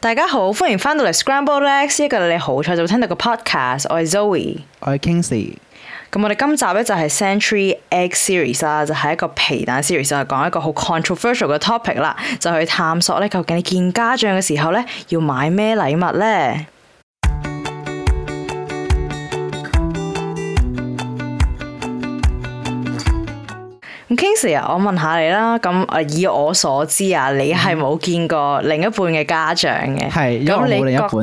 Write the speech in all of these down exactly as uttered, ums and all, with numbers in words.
大家好，歡迎翻到嚟 Scrambled Eggs，一個你好彩就會聽到個 podcast。我係 Zoe， 我係 Kingsley。 咁我哋今集咧就係 Century Egg Series 啦，就係一個皮蛋 series，就係講一個好 controversial 嘅 topic 啦，就去探索咧究竟你見家長嘅時候咧要買咩禮物咧？咁 Kingsley 啊，我問下你啦，咁誒以我所知啊，你係冇見過另一半嘅家長嘅， 係因為我冇另一半。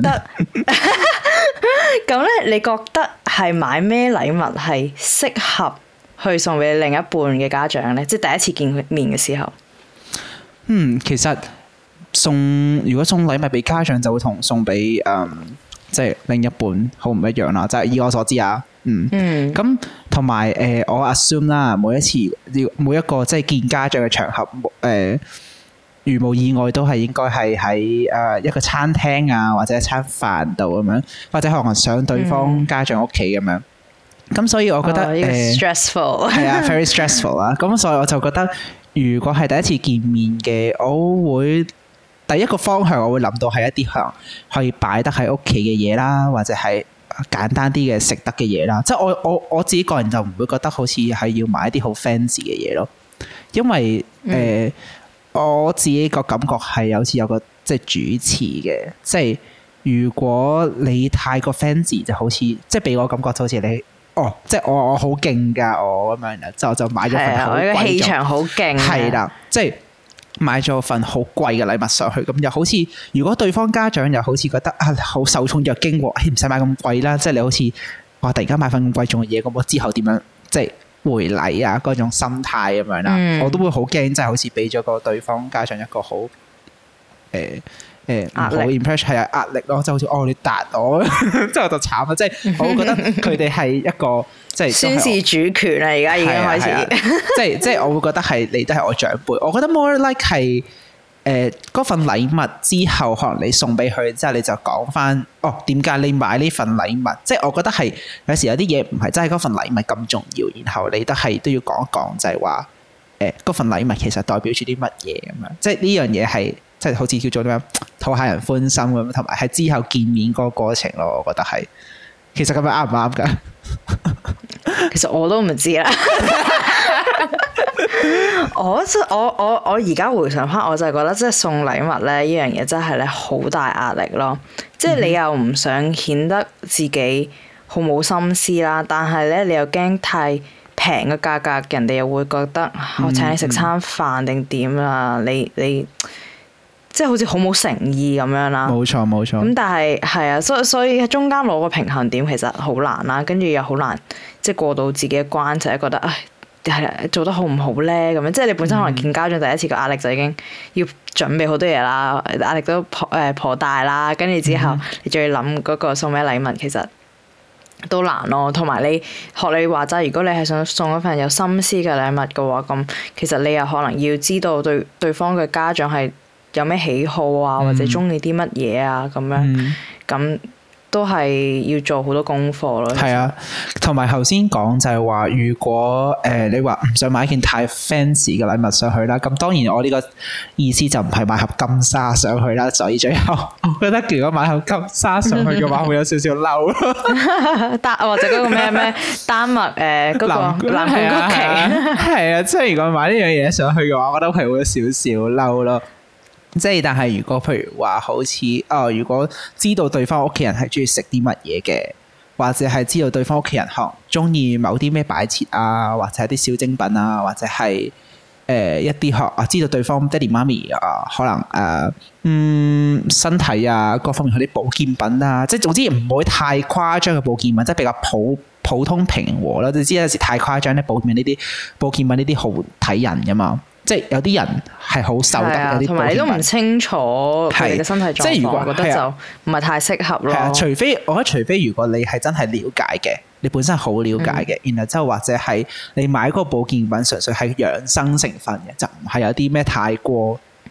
咁咧，你覺得係買咩禮物係適合去送俾另一半嘅家長咧？即係第一次見面嘅時候。 嗯，其實送如果送禮物俾家長，就會同送俾誒即係另一半好唔一樣啦。就係以我所知啊，嗯，咁同埋誒，我 assume 啦，每一次要每一個即係見家長嘅場合，誒、呃。如無意外都係應該係喺誒一個餐廳啊，或者一餐飯度咁樣，或者可能上對方家長屋企咁樣。咁、嗯、所以我覺得誒、 哦這個、stressful 係啊，very stressful 啦。咁所以我就覺得，如果係第一次見面嘅，我會第一個方向我會諗到係一啲可能可以擺得喺屋企嘅嘢啦，或者係簡單啲嘅食得嘅嘢啦。即係我我我自己個人就唔會覺得好似係要買一啲好 fancy 嘅嘢咯，因為誒。嗯呃我自己個感覺係好似有個即係主持嘅，即係如果你太過 fancy 就好似即係俾我感覺就好似你哦，即係我我好勁㗎我咁樣，就就買咗份好貴， 個氣場好勁， 係啦，即係買咗份好貴嘅禮物上去，咁又好似如果對方家長又好似覺得啊好受寵若驚喎，唔使買咁貴啦，即係你好似哇突然間買份咁貴重嘅嘢，咁我之後點樣即係回禮啊嗰種心態咁樣啦，嗯、我都會好驚，即係好似俾咗個對方家長一個好誒誒唔好 impression 係啊壓力咯，即係好似哦你答我，之後就慘啦，即係我會覺得佢哋係一個即係宣示主權啦，而家已經開始， 啊啊、即係即係我會覺得係你都係我長輩，我覺得 more like 係。誒嗰、呃、份禮物之後，可能你送俾佢之後，你就講翻哦點解你買呢份禮物？即係我覺得係有時有啲嘢唔係真係嗰份禮物咁重要，然後你都係都要講一講，就係話誒嗰份禮物其實代表住啲乜嘢咁樣。即係呢樣嘢係即係好似叫做點樣討下人歡心咁，同埋係之後見面嗰個過程咯。我覺得係其實咁樣啱唔啱㗎？ 其實我都唔知啦。我我我我而家回想翻，我就係覺得即係送禮物咧，呢樣嘢真係咧好大壓力咯。即係你又唔想顯得自己好冇心思啦，但係咧你又驚太平嘅價格，人哋又會覺得我請你食餐飯定點啦，你你即係好似好冇誠意咁樣啦。冇錯冇錯。咁但係係啊，所以所以喺中間攞個平衡點其實好難啦，跟住又好難即係過到自己嘅關，就係覺得唉。係做得好唔好咧？咁樣即係你本身可能見家長第一次個壓力就已經要準備好多嘢啦，壓力都頗誒頗大啦。跟住之後你仲要諗嗰個送咩禮物，其實都難咯。同埋你學你話齋，如果你係想送一份有心思嘅禮物嘅話，咁其實你又可能要知道對對方嘅家長係有咩喜好啊，或者中意啲乜嘢啊咁樣咁。嗯都係要做好多功課咯。係啊， 同埋頭先講就係話，如果誒、呃、你話唔想買一件太 fancy 嘅禮物上去啦，咁當然我呢個意思就唔係買盒金沙上去啦。所以最後我覺得如果買盒金沙上去嘅話，會有少少嬲咯。 丹或者嗰個咩咩丹麥誒嗰個藍罐曲奇， 係啊，即係如果買呢樣嘢上去嘅話，我覺得係會有少少嬲咯。即係，但係如果譬如話好似哦，如果知道對方屋企人係中意食啲乜嘢嘅，或者係知道對方屋企人可能中意某啲咩擺設啊，或者係啲小精品啊，或者係誒、呃、一啲學啊，知道對方爹哋媽咪啊，可能誒、呃、嗯身體啊各方面嗰啲保健品啊，即係總之唔會太誇張嘅保健品，即係比較普普通平和啦。你知有時太誇張咧，保健品呢啲保健品呢啲好睇人噶嘛。即係有啲人係好瘦得，有啲同埋你都唔清楚佢哋嘅身體狀況，即係如果我覺得就唔係太適合咯。係啊， 除非我覺得，除非如果你係真係了解嘅，你本身好了解嘅，嗯、然後之後或者係你買嗰個保健品純粹係養生成分嘅，就唔係有啲咩太過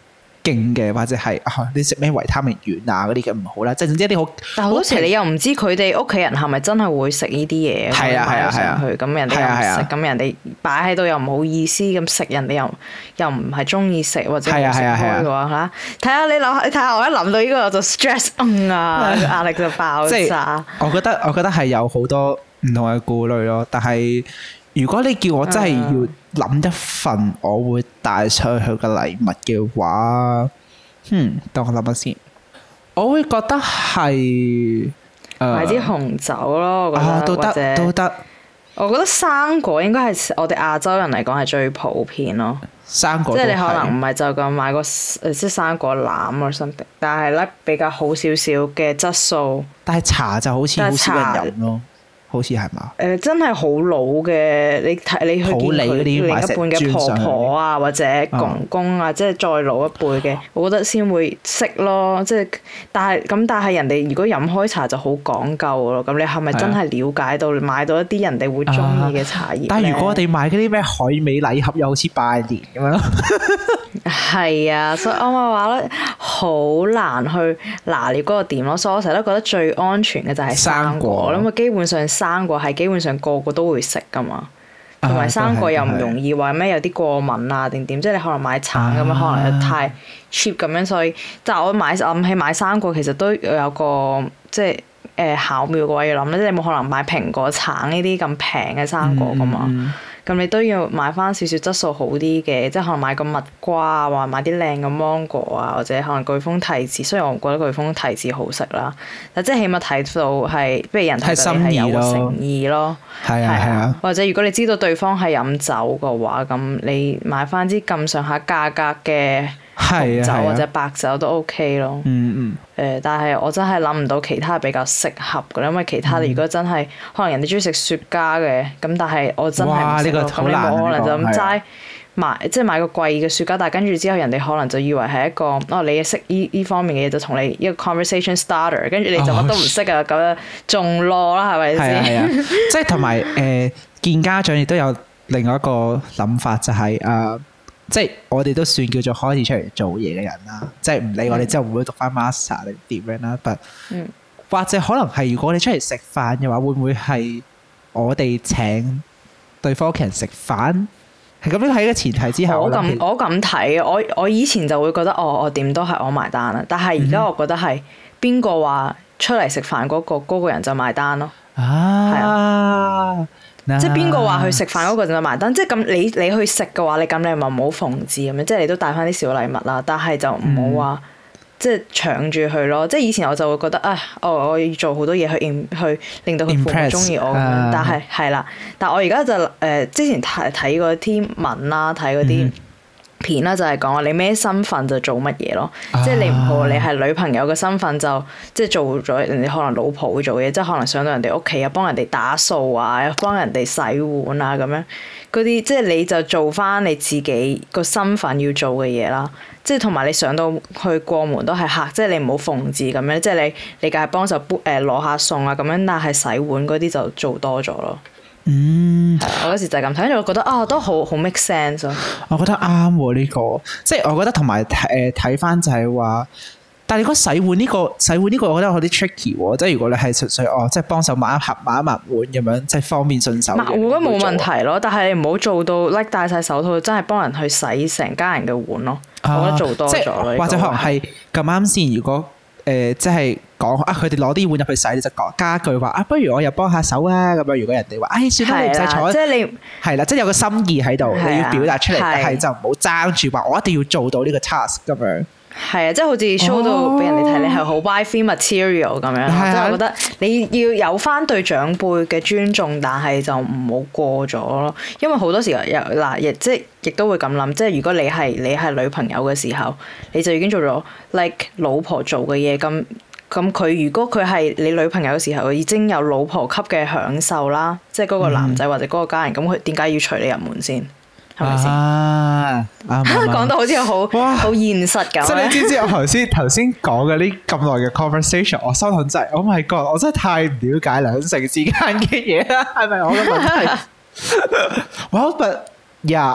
勁嘅，或者係啊你食咩維他命丸啊嗰啲嘅唔好啦，即係總之一啲好。 但好多時你又唔知佢哋屋企人係咪真係會食呢啲嘢， 係啊係啊係啊， 咁人哋又唔食，咁人哋擺喺度又唔好意思咁食，人哋又又唔係中意食或者冇食開嘅話嚇，睇下你諗，你睇下我一諗到呢個我就 stress 嗯啊，壓力就爆炸。 我覺得我覺得係有好多唔同嘅顧慮咯，但係如果你叫我真係要諗一份我會帶出去嘅禮物嘅話，嗯，等我諗下先。我會覺得係買支紅酒咯，我覺得、 啊、都得或者都得。 我覺得生果應該係我哋亞洲人嚟講係最普遍咯。 生果即係你可能唔係就咁買個誒即係生果籃啊 something，但係咧比較好少少嘅質素。 但係茶就好似好少人飲咯。好似係嘛？誒、 呃、真係好老嘅，你睇你去見佢另一半嘅婆婆啊，或者公公啊，哦、即係再老一輩嘅，我覺得先會識咯。即係但係咁，但係人哋如果飲開茶就好講究咯。咁你係咪真係了解到買到一啲人哋會中意嘅茶葉、啊？ 但係如果我哋買嗰啲咩海味禮盒，又好似拜年咁樣咯。 係啊，所以我咪話咧，好難去拿捏嗰個點咯。所以我成日都覺得最安全嘅就係生果，因為基本上生果係基本上個個都會食噶嘛，同埋生果又唔容易話咩有啲過敏啊定點，即係你可能買橙咁樣，可能又太 cheap 咁樣，所以但係我買諗起買生果其實都有個即係誒巧妙嘅位要諗咧，即係你冇可能買蘋果、橙呢啲咁平嘅生果噶嘛。嗯咁你都要買翻少少質素好啲嘅，即係可能買個蜜瓜啊，或者買啲靚嘅芒果啊，或者可能巨峰提子。雖然我唔覺得巨峰提子好食啦，但即係起碼睇到係，不如人睇到你係有誠意咯。係啊係啊。或者如果你知道對方係飲酒嘅話，咁你買翻支咁上下價格嘅紅酒或者白酒都 OK 咯。嗯嗯。誒，但係我真係諗唔到其他比較適合嘅，因為其他如果真係可能人哋中意食雪茄嘅，咁但係我真係唔食咯。咁你冇可能就咁齋買，即係買個貴嘅雪茄，但係跟住之後人哋可能就以為係一個哦，你識依依方面嘅嘢，就同你一個 conversation starter，跟住你就乜都唔識啊，咁樣仲囉啦，係咪先？係啊， 即係同埋誒見家長亦都有另外一個諗法，就係誒。即係我哋都算叫做開始出嚟做嘢嘅人啦，即係唔理我哋之後會唔會讀翻 master 定點樣啦，但、嗯、或者可能係如果你出嚟食飯嘅話，會唔會係我哋請對方屋企人食飯？係咁樣喺個前提之下， 我咁我咁睇，我我以前就會覺得哦，我點都係我埋單啦，但係而家我覺得係邊個話出嚟食飯嗰個嗰個人就埋單咯。啊，係啊。即係邊個話去食飯嗰個就埋單？即係咁你你去食嘅話，你咁你咪唔好奉旨咁樣，即係你都帶翻啲小禮物啦。但係就唔好話即係搶住去咯。即係以前我就會覺得啊，哦，我要做好多嘢去去令到佢父母中意我咁樣。但係係啦，但係我而家就誒、呃、之前睇睇嗰啲文啦，睇嗰啲片啦，就係講話你咩身份就做乜嘢咯。啊、即係你唔好你係女朋友嘅身份就即係做咗人哋可能老婆會做嘢，即係可能上到人哋屋企啊，幫人哋打掃啊，幫人哋洗碗啊咁樣嗰啲，即係你就做翻你自己個身份要做嘅嘢啦。即係同埋你上到去過門都係客，即係你唔好奉旨咁樣，即係你你梗係幫手誒攞下餸啊咁樣，但係洗碗嗰啲就做多咗咯。嗯，我嗰時就係咁睇，跟住我覺得啊，都好好 make sense 咯。 我覺得啱喎呢個，即係我覺得同埋誒睇翻就係話，但係如果洗碗呢個洗碗呢個，我覺得有啲 tricky 喎。即係如果你係純粹哦，即係幫手抹一盒抹一抹碗咁樣，即係方便順手。抹碗冇問題咯，但係你唔好做到 like 戴晒手套，真係幫人去洗成家人嘅碗咯。啊、我覺得做多咗咯， 或者可能係咁啱先。如果誒、呃、即係講啊，佢哋攞啲碗入去洗，你就講加句話啊，不如我又幫下手啊咁樣。如果人哋話，唉、哎，算啦，你唔使坐， 即係你係啦，即係有個心意喺度，你要表達出嚟，但係就唔好爭住話我一定要做到呢個 task 咁樣。 係啊，即係好似 show 到俾人哋睇，哦、你係好 wifey material 咁樣。即係我覺得你要有翻對長輩嘅尊重，但係就唔好過咗咯。因為好多時候又嗱，亦即係亦都會咁諗，即係如果你係你係女朋友嘅時候，你就已經做咗 like 老婆做嘅嘢咁。咁佢如果佢係你女朋友嘅時候，已經有老婆級嘅享受啦，即係嗰個男仔或者嗰個家人，咁佢點解要隨你入門先？係咪先？啊，講到好似好好現實咁。 即係你知唔知我頭先頭先講嘅呢咁耐嘅 conversation， 我心諗真係 ，Oh my God！ 我真係太唔了解兩性之間嘅嘢啦，係咪我嘅問題？Well, but yeah，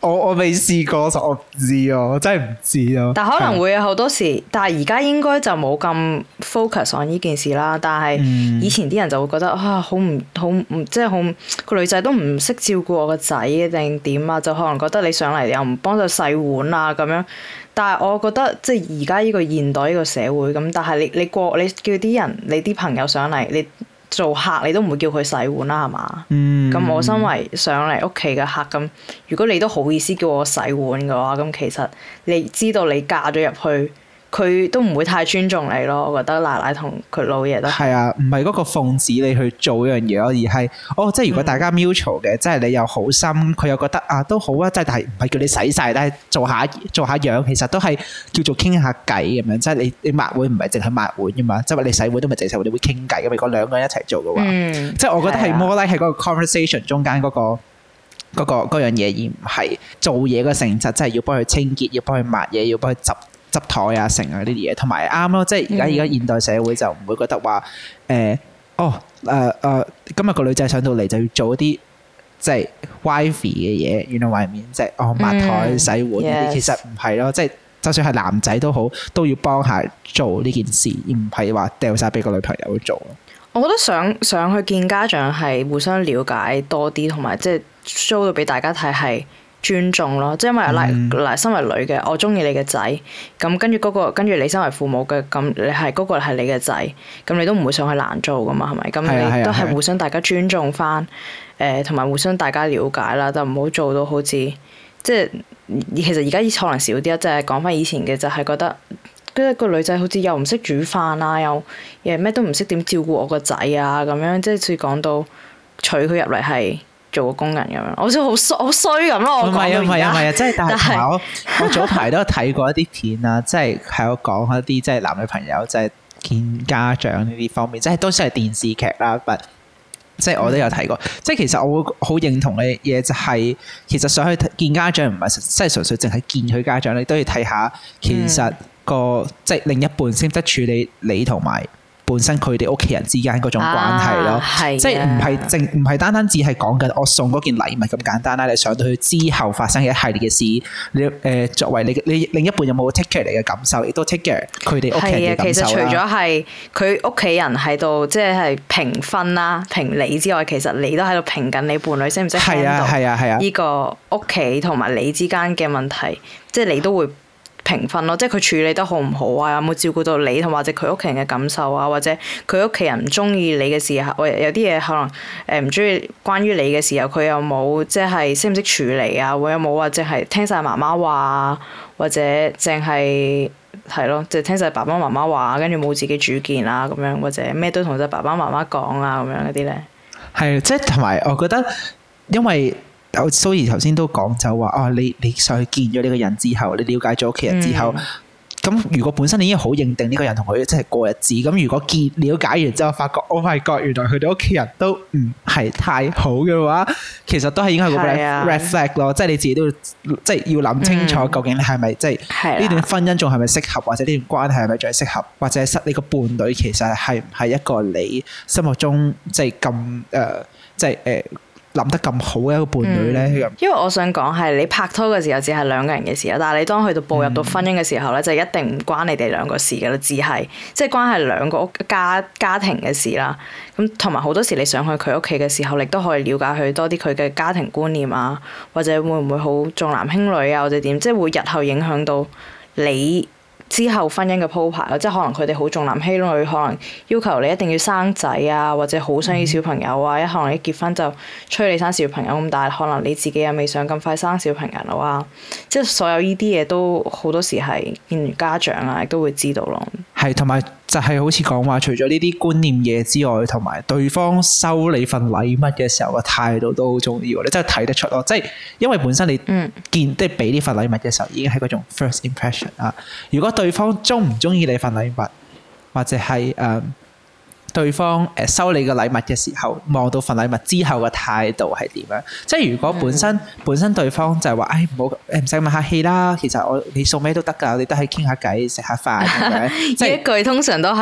我我未試過，所以我唔知啊，我真係唔知咯。 但可能會有好多時，但係而家應該就冇咁 focus on 呢件事啦。但係以前啲人就會覺得啊，好唔好唔即係好個女仔都唔識照顧我個仔定點啊，就可能覺得你上嚟又唔幫手洗碗啊咁樣。但係我覺得即係而家呢個現代呢個社會咁，但係你你過你叫啲人你啲朋友上嚟你做客，你都唔會叫佢洗碗啦係嘛？嗯。咁我身為上嚟屋企嘅客咁，如果你都好意思叫我洗碗嘅話，咁其實你知道你嫁咗入去，佢都唔會太尊重你咯。我覺得奶奶同佢老爺都係啊，唔係嗰個奉旨你去做一樣嘢咯，而係哦，即係如果大家 mutual 嘅，即係你又好心，佢又覺得啊都好啊，即係但係唔係叫你洗晒，但係做下做下樣，其實都係叫做傾下偈咁樣。即係你你抹碗唔係淨係抹碗噶嘛，即係話你洗碗都唔係淨係洗碗，你會傾偈噶嘛。如果兩個人一齊做嘅話，嗯、即係我覺得係 more like 係嗰個 conversation 中間嗰、嗰個嗰、嗰個嗰樣嘢，而唔係做嘢嘅性質，即係要幫佢清潔，要幫佢抹嘢，要幫佢執。執台啊，成啊呢啲嘢，同埋啱咯，即係而家而家現代社會就唔會覺得話誒、呃，哦誒誒、呃呃，今日個女仔上到嚟就要做一啲即係 wifey 嘅嘢，原來外面即係哦抹台洗碗呢啲，嗯、其實唔係咯，即係就算係男仔都好，都要幫下做呢件事，而唔係話掉晒俾個女朋友去做咯。 我覺得上上去見家長係互相了解多啲，同埋即係 show 到俾大家睇係。尊重咯，即係因為嗱嗱，身為女嘅，我中意你嘅仔，咁跟住嗰個，跟住你身為父母嘅，咁你係嗰個係你嘅仔，咁你都唔會想去難做噶嘛，係咪？咁你都係互相大家尊重翻，誒同埋互相大家了解啦，就唔好做到好似即係其實而家可能少啲啊，即係講翻以前嘅就係覺得，跟住個女仔好似又唔識煮飯啊，又誒咩都唔識點照顧我個仔啊，咁樣即係似講到娶佢入嚟係。做個工人咁樣，好似好衰好衰咁咯。我講到而家，唔係啊，唔係啊，唔係啊，即係但係我我早排都有睇過一啲片啊，即係係我講一啲即係男女朋友即係見家長呢啲方面，即係都算係電視劇啦。但即係我都有睇過，嗯、即係其實我會好認同嘅嘢就係、是，其實上去見家長唔係即係純粹淨係見佢家長，你都要睇下其實個、嗯、即係另一半識得處理你同埋。本身佢哋屋企人之間嗰種關係咯，啊、即係唔係淨唔係單單只係講緊我送嗰件禮物咁簡單啦。你上到去之後發生嘅一系列嘅事，你誒、呃、作為你你另一半有冇 take care 你嘅感受，亦都 take care 佢哋屋企人嘅感受啦。其實除咗係佢屋企人喺度，即係評分啦、評你之外，其實你都喺度評緊你伴侶識唔識 handle 呢個屋企同埋你之間嘅問題，即係你都會。評分咯，即係佢處理得好唔好啊？有冇照顧到你同或者佢屋企人嘅感受啊？或者佢屋企人唔中意你嘅時候，或有啲嘢可能誒唔中意關於你嘅時候，佢有冇即係識唔識處理啊？會有冇話淨係聽晒媽媽話，或者淨係係咯，即係聽晒爸爸媽媽話，跟住冇自己主見啊咁樣，或者咩都同晒爸爸媽媽講啊咁樣嗰啲咧？係，即係同埋我覺得，因為。我蘇怡頭先都講就話啊，你你上去見咗呢個人之後，你了解咗屋企人之後，咁、嗯、如果本身你已經好認定呢個人同佢即係過日子，咁如果見了解完之後，發覺 Oh my God，原來佢哋屋企人都唔係太好嘅話，其實都係應該係個 red flag 咯，即係你自己都要即係要諗清楚，究竟你係咪即係呢段婚姻仲係咪適合，或者呢段關係係咪仲係適合，或者你個伴侶其實係唔係一個你心目中即係咁誒，即係誒。呃諗得咁好嘅一個伴侶咧，嗯、因為我想講係你拍拖嘅時候只係兩個人嘅事啦，但係你當去到步入到婚姻嘅時候咧，嗯、就一定唔關你哋兩個事嘅啦，只係即係關係兩個屋家家庭嘅事啦。咁同埋好多時你上去佢屋企嘅時候，你都可以了解佢多啲佢嘅家庭觀念啊，或者會唔會好重男輕女啊，或者點，即係會日後影響到你。之後婚姻嘅鋪排，即係可能佢哋好重男輕女，可能要求你一定要生仔啊，或者好想要小朋友啊，一、嗯、可能一結婚就催你生小朋友咁，但係可能你自己又未想咁快生小朋友啊，即係所有呢啲嘢都好多時係見完家長啊，亦都會知道咯。係，同埋就係好似講話，除咗呢啲觀念嘢之外，同埋對方收你份禮物嘅時候嘅態度都好重要，你真係睇得出咯。即係因為本身你見即係俾呢份禮物嘅時候，已經係嗰種 first impression 啊。如果對方中唔中意你份禮物，或者係誒、呃、對方誒收你嘅禮物嘅時候，望到份禮物之後嘅態度係點樣？即係如果本身、嗯、本身對方就係話，唉唔好誒唔使咁客氣啦，其實我你送咩都得㗎，你都係傾下偈食下飯咁樣。即係一句通常都係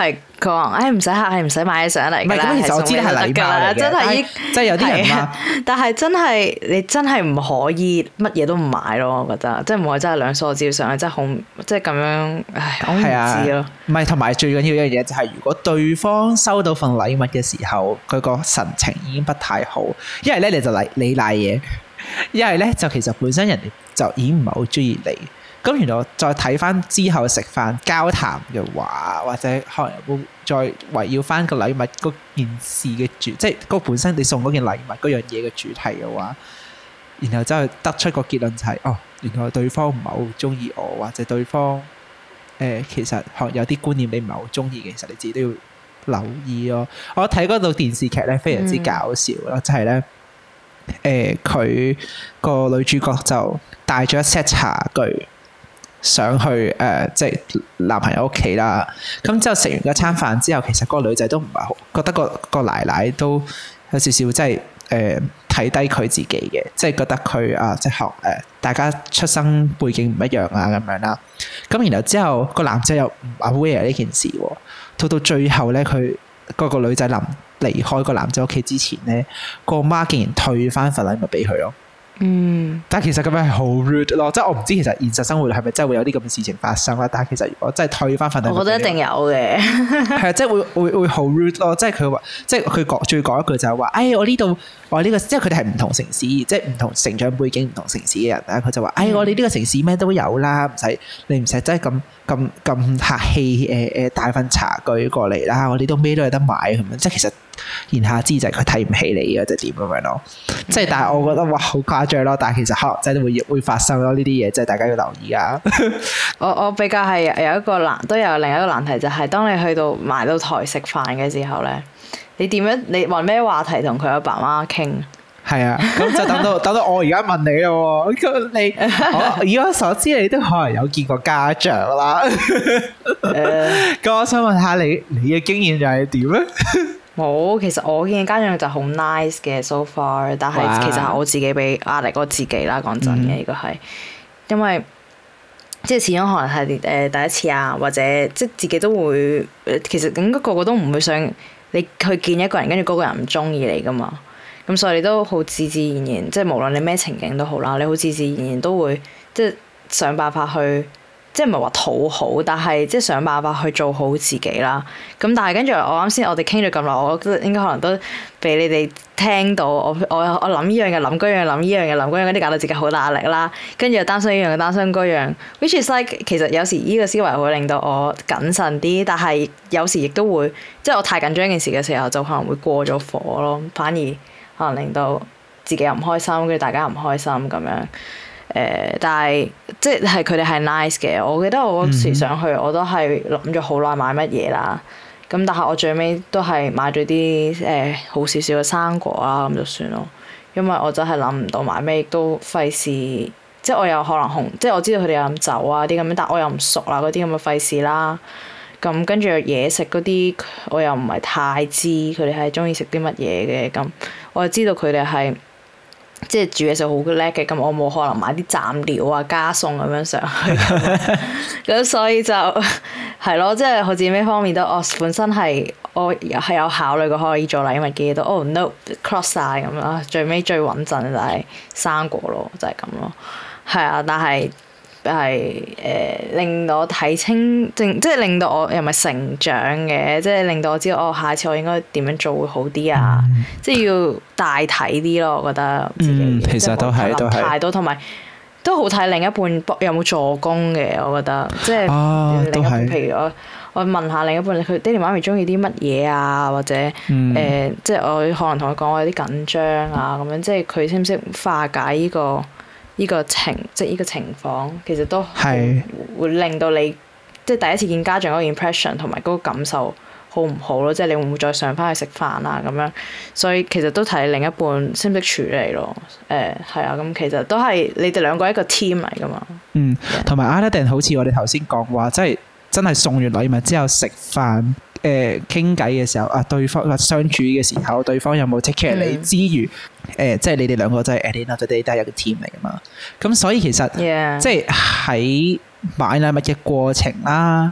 佢話：誒唔使客氣，唔使買嘢上嚟㗎啦。 唔係咁，其實我知係禮貌嚟嘅， 真係即係有啲人話， 但係真係你真係唔可以乜嘢都唔買咯，我覺得，即係唔可以真係兩梳照上，真係好即係咁樣，唉，我唔知咯。 唔係，同埋最緊要一樣嘢就係，如果對方收到份禮物嘅時候，佢個神情已經不太好，一係咧你就嚟你賴嘢，一係咧就其實本身人哋就已經唔係好中意你。咁原來再睇翻之後食飯交談嘅話，或者可能會再圍繞翻個禮物嗰件事嘅主，即係嗰本身你送嗰件禮物嗰樣嘢嘅主題嘅話，然後之後得出個結論就係、是，哦，原來對方唔係好中意我，或者對方誒、呃、其實可能有啲觀念你唔係好中意嘅，其實你自己都要留意咯。我睇嗰套電視劇咧非常之搞笑咯，就係咧誒佢個女主角就帶咗一 set 茶具上去誒、呃，即係男朋友屋企啦。咁之後食完嗰餐飯之後，其實嗰個女仔都唔係好覺得個個奶奶都有少少即係誒睇低佢自己嘅，即係覺得佢啊即係學誒大家出生背景唔一樣啊咁樣啦。咁然後之後個男仔又唔 aware 呢件事喎，到到最後咧，佢嗰個女仔臨離開個男仔屋企之前咧，個媽竟然退翻份禮物俾佢咯。嗯，但係其實咁樣係好 rude 咯，即係我唔知其實現實生活係咪真係會有啲咁嘅事情發生啦。但係其實如果真係退翻份禮物， 我覺得一定有嘅， 係啊，即係會會會好 rude 咯。即係佢話，即係佢講最講一句就係話，哎，我呢度我呢個，即係佢哋係唔同城市，即係唔同成長背景、唔同城市嘅人啦。佢就話，哎，我哋呢個城市咩都有啦，唔使你唔使真係咁咁咁客氣誒誒帶份茶具過嚟啦。我哋都咩都有得買咁樣，即係其實。言下之就係佢睇唔起你或者點咁樣咯，即係但係我覺得哇好誇張咯，但係其實可能真係會會發生咯呢啲嘢，即係大家要留意噶。 我我比較係有一個難，都有另一個難題就係、是，當你去到埋到台食飯嘅時候咧，你點樣你揾咩話題同佢阿爸媽傾？係啊，咁就等到等到我而家問你咯，咁你我以我所知你都可能有見過家長啦。咁、uh, 我想問下你你嘅經驗又係點咧？ 冇，其實我見家長就好 nice 嘅 so far， 但係其實係我自己俾壓力我自己啦。講真嘅，呢個係因為即係始終可能係誒第一次啊，或者即係自己都會其實應該個個都唔會想你去見一個人，跟住嗰個人唔中意你噶嘛。咁所以你都好自自然然，即係無論你咩情景都好啦，你好自自然然都會即係想辦法去。即係唔係話討好，但係即係想辦法去做好自己啦。咁但係跟住我啱先，我哋傾咗咁耐，我覺得應該可能都俾你哋聽到我我我諗呢樣嘅諗嗰樣，諗呢樣嘅諗嗰樣，嗰啲搞到自己好大壓力啦。跟住又擔心呢樣嘅擔心嗰樣，which is like 其實有時呢個思維會令到我謹慎啲，但係有時亦都會即係我太緊張件事嘅時候，就可能會過咗火咯，反而可能令到自己又唔開心，跟住大家又唔開心咁樣。誒、呃，但係即係佢哋係 nice 嘅。我記得我嗰時上去，我都係諗咗好耐買乜嘢啦。咁但係我最尾都係買咗啲誒好少少嘅生果啦，咁就算咯。因為我真係諗唔到買咩，亦都費事。即係我有可能紅，即係我知道佢哋有飲酒啊啲咁樣，但我又唔熟啦，嗰啲咁嘅費事啦。咁跟住嘢食嗰啲，我又唔係太知佢哋係中意食啲乜嘢嘅。咁我就知道佢哋係。即係煮嘢食好叻嘅，咁我冇可能買啲蘸料啊加餸咁樣上去，咁所以就係咯，即係我自己呢方面都，我本身係我係有考慮過可以做禮物嘅嘢都，oh no cross 曬咁啦，最尾最穩陣就係生果咯，就係咁咯，係啊，但係係誒令到我睇清，即係令到我又唔係成長嘅，即係令到我知道哦，下次我應該點樣做會好啲啊！嗯、即係要大體啲咯，我覺得自己。 嗯，其實都係都係。太多同埋都好睇另一半有冇助攻嘅，我覺得即係、 啊、 另一半。譬如我我問下另一半，佢爹哋媽咪中意啲乜嘢啊？或者誒、嗯呃，即係我可能同佢講我有啲緊張啊，咁樣即係佢識唔識化解呢、呢個？呢個情即係呢個情況，其實都係會令到你即係第一次見家長嗰個 impression 同埋嗰個感受好唔好咯？即係你會唔會再上翻去食飯啊咁樣？所以其實都睇另一半識唔識處理咯。誒係啊，咁其實都係你哋兩個一個 team 嚟噶嘛。嗯， 同埋啱一定好似我哋頭先講話，即係真係送完禮物之後食飯。誒傾偈嘅時候啊，對方相處嘅時候，對方有冇 take care 你之餘，誒、呃、即係你哋兩個真係 at the end of the day 都係一個 team 嚟噶嘛。咁所以其實 Yeah. 即係喺買禮物嘅過程啦，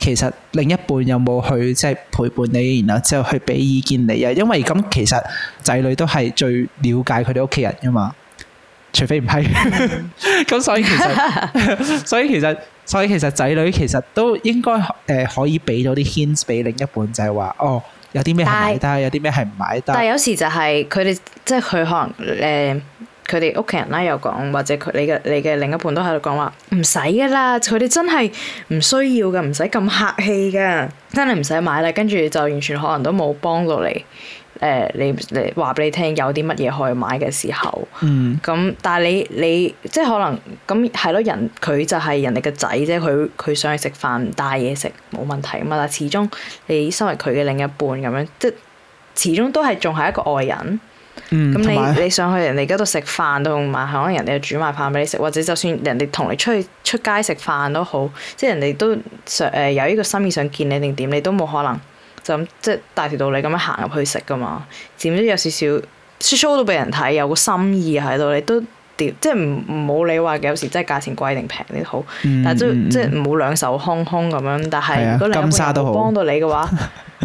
其實另一半有冇去即係陪伴你，然後之後去俾意見你啊？因為咁其實仔女都係最了解佢哋屋企人噶嘛，除非唔係。咁所以其實，所以其實，所以其實仔女其實都應該誒、呃、可以俾到啲 hints 俾另一半，就係話哦，有啲咩係買得，有啲咩係唔買得。 但係有時就係佢哋即係佢可能誒。佢哋屋企人啦，又講或者佢你嘅你嘅另一半都喺度講話唔使噶啦，佢哋真係唔需要噶，唔使咁客氣噶，真係唔使買啦。跟住就完全可能都冇幫到你誒、呃，你你話俾你聽有啲乜嘢可以買嘅時候， 嗯， 咁但係你你即係可能咁係咯，人佢就係人哋嘅仔啫，佢佢想去食飯唔帶嘢食冇問題啊嘛，但係始終你身為佢嘅另一半咁樣，即係始終都係仲係一個外人。咁、嗯、你你上去人哋嗰度食飯同埋可能人哋煮埋飯俾你食，或者就算人哋同你出去出街食飯都好，即係人哋都想誒有呢個心意想見你定點，你都冇可能就咁即係大條道理咁樣行入去食噶嘛，點都有少少 show 到俾人睇有個心意喺度，你都屌即係唔唔好理話有時真係價錢貴定平啲好，嗯、但係都、嗯、即係唔好兩手空空咁樣。但係如果另一半有幫到你嘅話，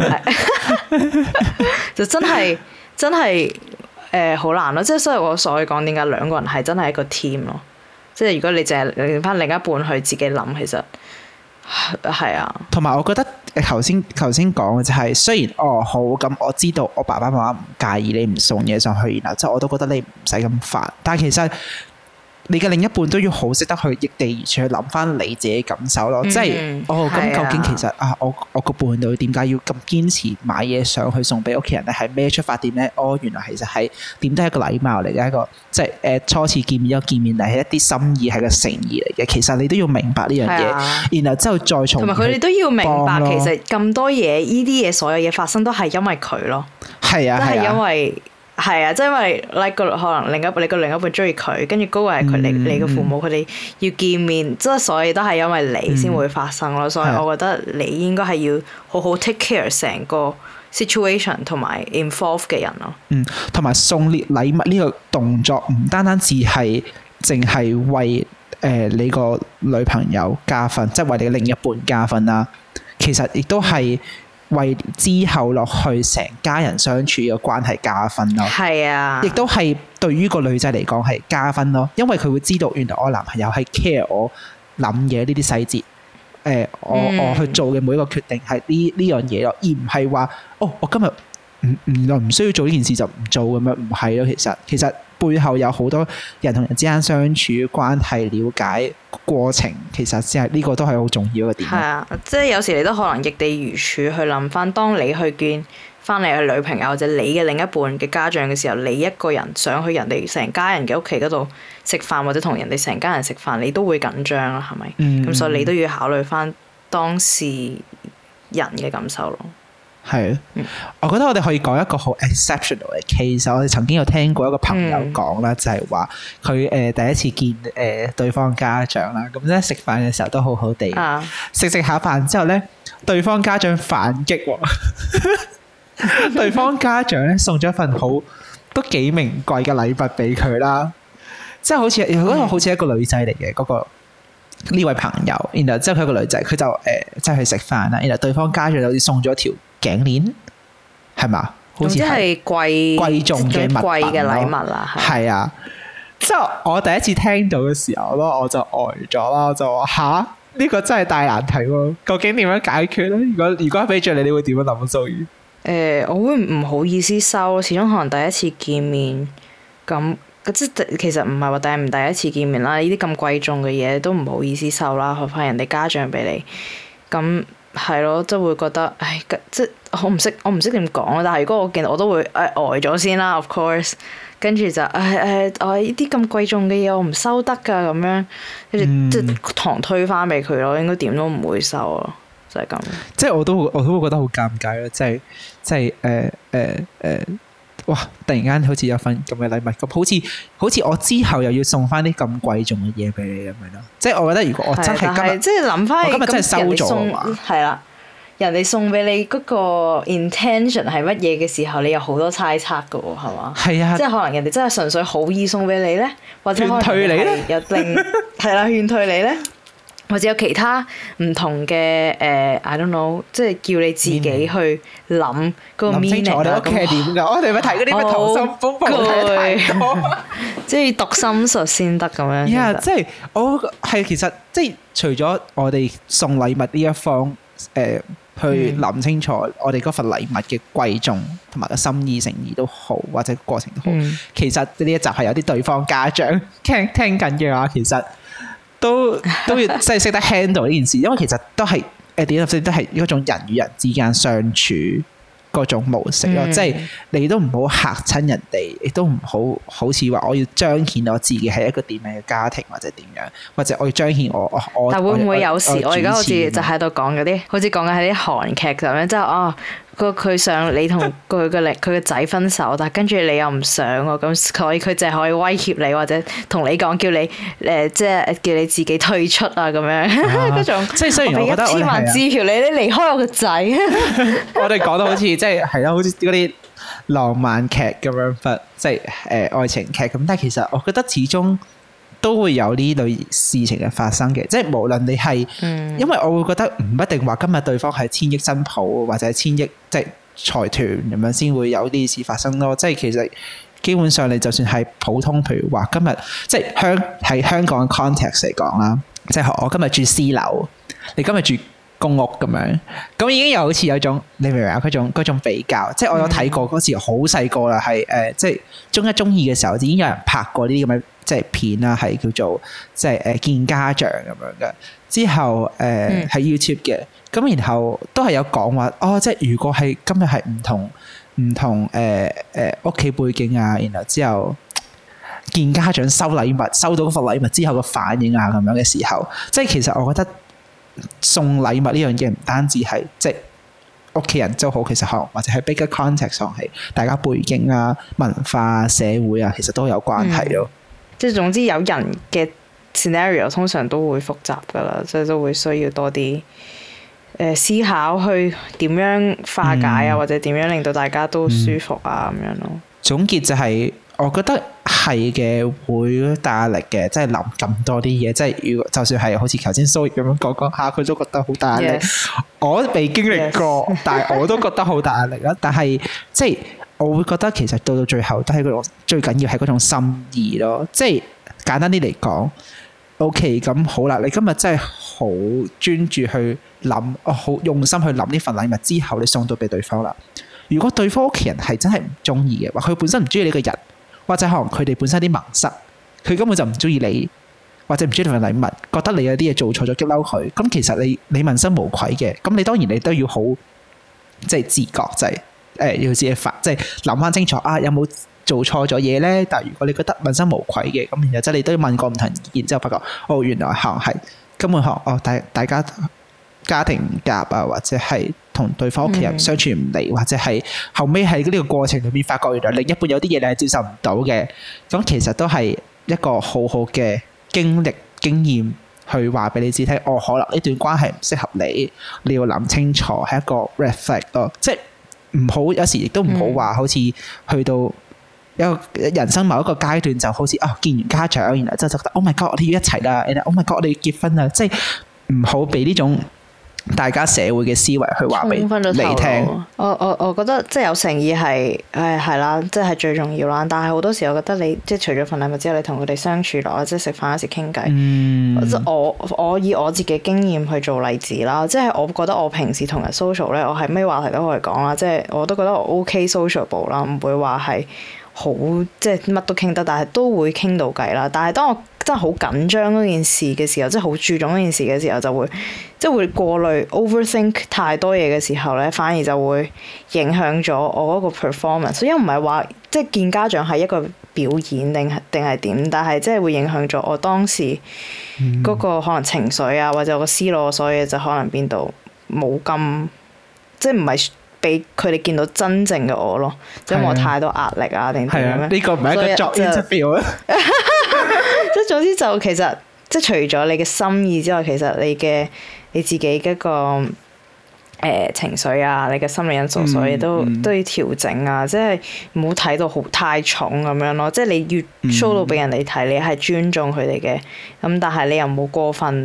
就真係真係。誒好、呃、難咯，即係所以我所以講點解兩個人係真係一個 team 咯，即係如果你淨係令翻另一半去自己諗，其實係啊。同埋我覺得誒頭先頭先講嘅就係、是、雖然哦好咁，我知道我爸爸媽媽唔介意你唔送嘢上去，然後即係我都覺得你唔使咁煩，但係其實。你嘅另一半都要好識得去逆地而處去諗翻你自己感受咯，嗯、即係哦咁究竟其實啊，我我個伴侶點解要咁堅持買嘢上去送俾屋企人咧？係咩出發點咧？哦，原來其實係點都係一個禮貌嚟嘅，一個即係誒初次見面一個見面，但係一啲心意係個誠意嚟嘅。其實你都要明白呢樣嘢，啊、然後之後再從同埋佢哋都要明白， 其實咁多嘢，呢啲嘢所有嘢發生都係因為佢咯， 係啊， 都係因為。係啊，即係因為 like 個可能另一你個另一半中意佢，跟住嗰個係佢你你嘅父母，佢哋要見面，即係所以都係因為你先會發生咯。嗯、所以我覺得你應該係要好好 take care 成個 situation 同埋 involve 嘅人咯。 嗯，同埋送禮禮物呢個動作唔單單只係淨係為誒、呃、你個女朋友加分，即係為你嘅另一半加分啦。其實亦都係。為之後落去成家人相處嘅關係加分咯， 係啊， 亦都係對於個女仔嚟講係加分咯，因為佢會知道原來我男朋友係 care 我諗嘢呢啲細節，誒、呃，我、嗯、我去做嘅每一個決定係呢呢樣嘢咯，而唔係話哦，我今日唔唔唔需要做呢件事就唔做咁樣，唔係咯，其實其實背後有好多人同人之間相處關係、了解過程，其實先係呢個都係好重要嘅點。係啊，即係有時你都可能易地而處去諗翻，當你去見翻你嘅女朋友或者你嘅另一半嘅家長嘅時候，你一個人想去人哋成家人嘅屋企嗰度食飯，或者同人哋成家人食飯，你都會緊張啦，係咪？咁、嗯、所以你都要考慮翻當事人嘅感受咯。 係啊，嗯、我覺得我哋可以講一個好 exceptional 嘅 case。我哋曾經有聽過一個朋友講啦，嗯、就係話佢誒第一次見誒、呃、對方家長啦，咁咧食飯嘅時候都好好地，食食下飯之後咧，對方家長反擊喎，對方家長咧送咗一份好都幾名貴嘅禮物俾佢啦，即係好似嗰個好似一個女仔嚟嘅嗰個呢位朋友，然後之後佢一個女仔，佢就誒即係去食飯啦，然後對方家長好似送咗條頸鏈，係嘛？好似係貴貴重嘅物貴嘅禮物啦， 係啊！之後我第一次聽到嘅時候咯，我就呆咗啦，我就話吓，呢個真係大難題喎！究竟點樣解決咧？如果如果俾著你，你會點樣諗啊？蘇宇？ 誒，我會唔好意思收，始終可能第一次見面咁，即係其實唔係話第唔第一次見面啦，呢啲咁貴重嘅嘢都唔好意思收啦，何況人哋家長俾你咁。係咯，即係會覺得，唉，即係我唔識，我唔識點講啊！但係如果我見到，我都會誒呆咗先啦。Of course，跟住就誒誒，我呢啲咁貴重嘅嘢，我唔收得㗎咁樣，跟住即係堂推翻俾佢咯。應該點都唔會收咯，就係咁。 即係我都我都會覺得好尷尬咯，即係即係誒誒誒。哇！突然間好似有份咁嘅禮物，咁好似好似我之後又要送翻啲咁貴重嘅嘢俾你咁樣咯。即係我覺得，如果我真係今日即係諗翻， 我今日真係收咗啊嘛。 係啦，人哋送俾你嗰個 intention 係乜嘢嘅時候，你有好多猜測㗎喎，係嘛？係啊，即係可能人哋真係純粹好意送俾你咧，或者可能勸退你咧，有另係啦勸退你咧， 或者有其他唔同嘅誒、呃、I don't know，即係叫你自己去諗嗰個 meaning。諗清楚我哋屋企係點㗎？我哋咪睇嗰啲咩溏心風暴睇太多，即係讀心術先得咁樣。 Yeah， 即係我係其實即係除咗我哋送禮物呢一方誒、呃、去諗清楚我哋嗰份禮物嘅貴重同埋個心意誠意都好，或者過程都好。嗯、其實呢一集係有啲對方家長聽聽緊嘅話，其實。都都要即係識得 handle 呢件事，因為其實都係誒點講都係一種人與人之間相處嗰種模式咯。嗯、即係你都唔好嚇親人哋，亦都唔好好似話我要彰顯我自己係一個點樣嘅家庭或者點樣，或者我要彰顯我我我。但會唔會有時我而家好似就喺度講嗰啲，好似講緊係啲韓劇咁樣，即係哦。個佢想你同佢嘅佢嘅仔分手，但係跟住你又唔想喎，咁所以佢就係可以威脅你或者同你講，叫你誒、呃、即係叫你自己退出啊咁樣嗰、啊、種。即係雖然我覺得我俾一千萬支票你，你離開我個仔。 我哋講得好似即係係咯，好似嗰啲浪漫劇咁樣，即係誒愛情劇咁。但係其實我覺得始終都會有呢類事情嘅發生嘅，即係無論你係，嗯、因為我會覺得唔一定話今日對方係千億新抱或者千億即係財團咁樣先會有呢啲事發生咯。即係其實基本上你就算係普通，譬如話今日即係香喺香港嘅 context 嚟講啦，即係我今日住私樓，你今日住公屋咁樣，咁已經有好似有種你明唔明啊？嗰種嗰種比較，即係我有睇過嗰時好細個啦，係誒、呃、即係中一中二嘅時候已經有人拍過呢啲咁嘅。即係片啦，係叫做即係誒見家長咁樣嘅。之後誒喺、呃嗯、YouTube 嘅，咁然後都係有講話哦，即係如果係今日係唔同唔同誒誒屋企背景啊，然後之後見家長收禮物，收到嗰份禮物之後嘅反應啊咁樣嘅時候，即係其實我覺得送禮物呢樣嘢唔單止係即係屋企人都好，其實可能或者係 bigger context 上係大家背景啊、文化、社會啊，其實都有關係咯。嗯即係總之有人嘅 scenario 通常都會複雜㗎啦，即係都會需要多啲誒、呃、思考去點樣化解啊，嗯、或者點樣令到大家都舒服啊咁、嗯、樣咯。總結就係、是、我覺得係嘅，會大壓力嘅，即係諗咁多啲嘢，即係如果就算係好似頭先 Zoe 咁樣講講下，佢都覺得好大壓力。Yes. 我未經歷過，Yes. 但係我都覺得好大壓力啦。但係即係。我會覺得其實到到最後都係嗰種最緊要係嗰種心意咯，即係簡單啲嚟講 ，OK 咁好啦，你今日真係好專注去諗，哦好用心去諗呢份禮物之後，你送到俾對方啦。如果對方屋企人係真係唔中意嘅，或佢本身唔中意你個人，或者可能佢哋本身啲盲塞，佢根本就唔中意你，或者唔中意份禮物，覺得你有啲嘢做錯咗激嬲佢，咁其實你你問心無愧嘅，咁你當然你都要好即係自覺就係、是。誒、呃、要自己發，即係諗翻清楚啊！有冇做錯咗嘢咧？但係如果你覺得問心無愧嘅，咁然後即係你都要問過唔同意見之後，發覺哦，原來可能係根本可能哦，大大家家庭唔夾啊，或者係同對方屋企人相處唔嚟，嗯、或者係後尾喺呢個過程裏面發覺原來另一半有啲嘢你係接受唔到嘅，咁其實都係一個好好嘅經歷經驗去話俾你知聽。哦，可能呢段關係唔適合你，你要諗清楚，係一個 red flag 咯，即係。唔好，有時亦都唔好話，好似去到一個人生某一個階段，就好似哦見完家長，然後就覺得 Oh my God，我哋要一齊啦，然後 Oh my God，我哋要結婚啦，即係唔好俾呢種大家社會嘅思維去話俾你聽。 我我我覺得即係有誠意係誒係啦，即係最重要啦。但係好多時我覺得你即係除咗份禮物之後，你同佢哋相處落，即係食飯嗰時傾偈。嗯、即我我以我自己經驗去做例子啦，即係我覺得我平時同人 social 咧，我係咩話題都可以講啦。即係我都覺得我 OK sociable 啦，唔會話係好即係乜都傾得，但係都會傾到偈啦。但係當我真係好緊張嗰件事嘅時候，即係好注重嗰件事嘅時候，就會即係會過濾 overthink 太多嘢嘅時候咧，反而就會影響咗我嗰個 performance。所以唔係話即係見家長係一個表演定係定係點，但係即係會影響咗我當時嗰個可能情緒啊，或者我個思路，所以就可能變到冇咁即係唔係俾佢哋見到真正嘅我咯，即係我太多壓力啊定點樣咩？ 呢個唔係一個作 interview 啊！ 即係總之就其實即係除咗你嘅心意之外，其實你嘅你自己嗰個誒、呃、情緒啊，你嘅心理因素，所以都、嗯嗯、都要調整啊！即係唔好睇到好太重咁樣咯。即係你越 show 到俾人哋睇，你係尊重佢哋嘅，咁但係你又唔好過分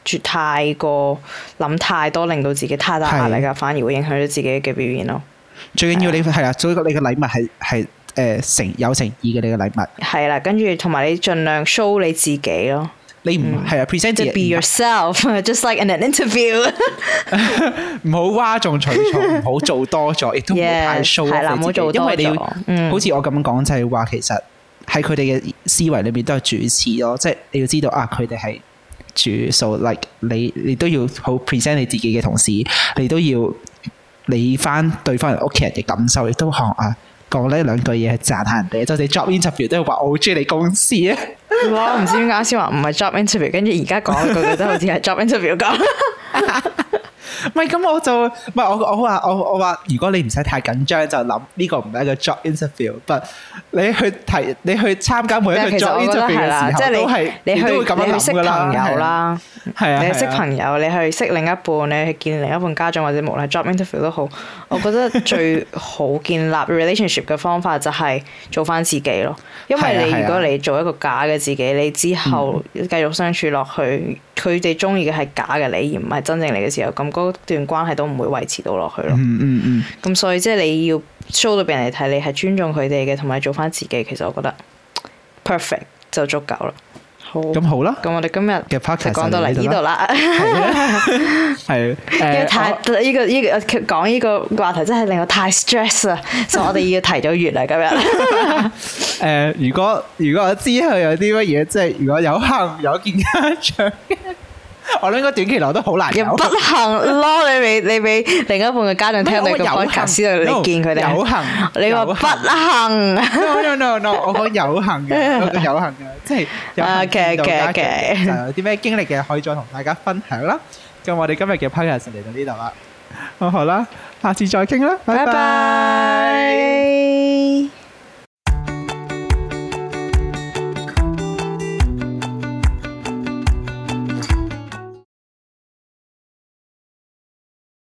絕太過諗太多，令到自己太大壓力啊，反而會影響咗自己嘅表現咯。 最緊要你係啦，所以你嘅禮物係係誒誠有誠意嘅你嘅禮物。 係啦，跟住同埋你盡量 show 你自己咯。 你唔係啊 present 自己 be yourself，just like in an interview 。 唔好嘩眾取寵，唔好做多咗，亦都唔好太 show 係啦，唔好做多咗。 因為你要，嗯、好似我咁樣講就係話，其實喺佢哋嘅思維裏面都係主次咯，即係你要知道啊，佢哋係主數 like 你你都要好 present 你自己嘅同時，你都要理翻對方人屋企人嘅感受，亦都學啊講呢兩句嘢係讚下人哋，就你 job interview 都係話我好中意你公司啊！ 我唔知點解先話唔係 job interview， 跟住而家講句句都好似係 job interview 咁。 唔係咁我就唔係我我話我我話如果你唔使太緊張就諗呢個唔係一個 job interview， 但你去提你去參加每一個 job interview 嘅時候都係你都會咁樣諗㗎啦。你去識朋友啦，係啊，你去識朋友，你去識另一半，你去見另一半家長或者無論 job interview 都好，我覺得最好建立 relationship 嘅方法就係做翻自己咯。因為你如果你做一個假嘅自己，你之後繼續相處落去，佢哋中意嘅係假嘅你，而唔係真正你嘅時候，咁嗰段關係都唔會維持到落去咯。 嗯嗯嗯。咁所以即係你要 show 到俾人哋睇，你係尊重佢哋嘅，同埋做翻自己。其實我覺得 perfect 就足夠啦。好。咁好啦。咁我哋今日嘅 podcast 就講到嚟呢度啦。係。誒。太呢個呢個講呢個話題真係令我太 stress 啦，所以我哋要提早完啦今日。誒，如果如果我之後有啲乜嘢，即係如果有幸有見家長。我諗應該短期內都好難有。又不幸咯，你俾你俾另一半嘅家長聽你個 podcast 先到你見佢哋。有幸。你話不幸。no no no no， 我講有幸嘅，我講有幸嘅，即係有幸見到家長嘅，就有啲咩經歷嘅可以再同大家分享啦。咁我哋今日嘅 podcast 嚟到呢度啦。好好啦，下次再傾啦，拜拜。